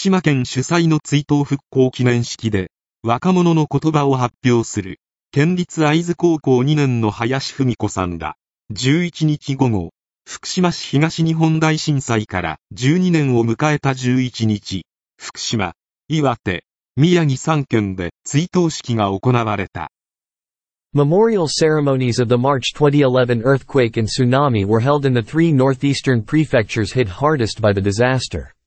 島県主催の追悼復興記念式で、若者の言葉を発表する、県立会津高校2年の林文子さんら、11日午後、福島市東日本大震災から12年を迎えた11日、福島、岩手、宮城3県で追悼式が行われた。 Memorial ceremonies of the March 2011 earthquake and tsunami were held in the three northeastern prefectures hit hardest by the disaster.